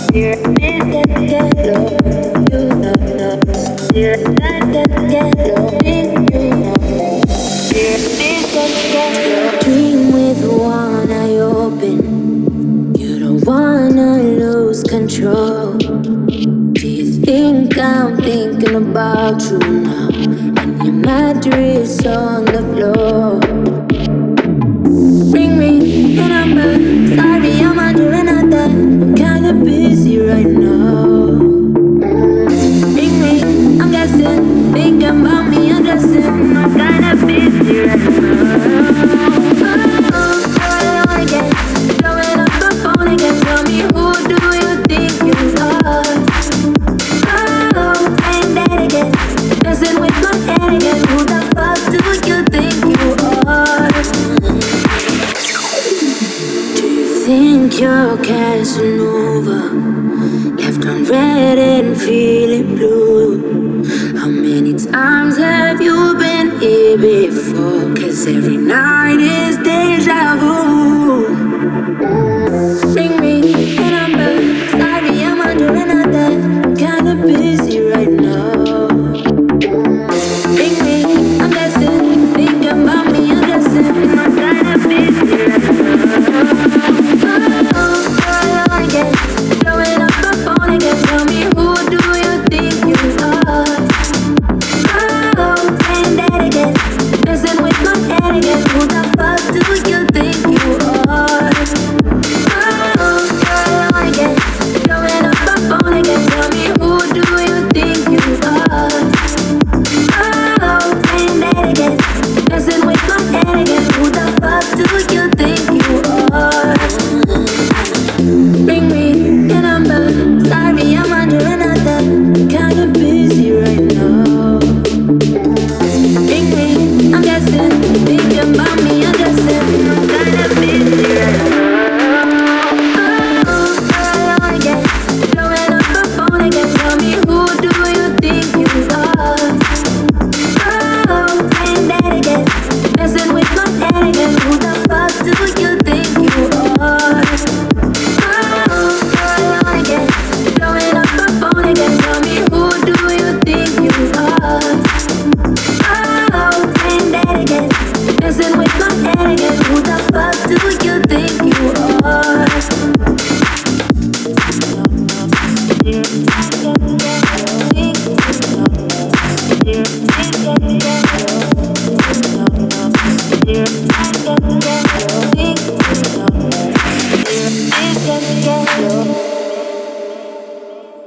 Dream with one eye open. You don't wanna lose control. Do you think I'm thinking about you now? And your mattress on the floor. Ring me, your number. Sorry, I'm under another. I'm kinda busy right now. Ring me, I'm guessing. Thinking about me undressing. I'm kinda busy right now. Oh, again. Blowing up the phone again. Tell me, who do you think you are? Oh, ain't that again? Messing with my head again. Who the fuck do you think you are? Do you think you're Casanova? Left on red and feeling blue. How many times have you been here before? 'Cause every night is deja vu. Ring me, your number. Sorry, I'm under another. Kinda busy right now. Ring me, I'm guessing. Thinking about me, I'm guessing. I'm kinda busy right now. Oh, again. Blowing up the phone again. Tell me, who do you think you are? Oh, ain't that again? Messing with my head again. Who the fuck do you think you are? Oh, again. Blowing up the phone again. Tell me, who do you think you are? Oh, ain't that again? Messing with my head again. Who the fuck do you think you are? Ring me, your number. Sorry, I'm under another. Kinda busy right now. Ring me, I'm guessing. Thinking about me, I'm guessing. I'm kinda busy right now. Oh, again. Blowing up the phone again. Tell me, who do you think you are? Oh, ain't that again? Messing with my head again. Who the fuck do you think you are? Oh, again. Blowing up the phone again. Tell me, who do you think you are? Oh, ain't that again? Messing with my head again. Who the fuck do you think you are?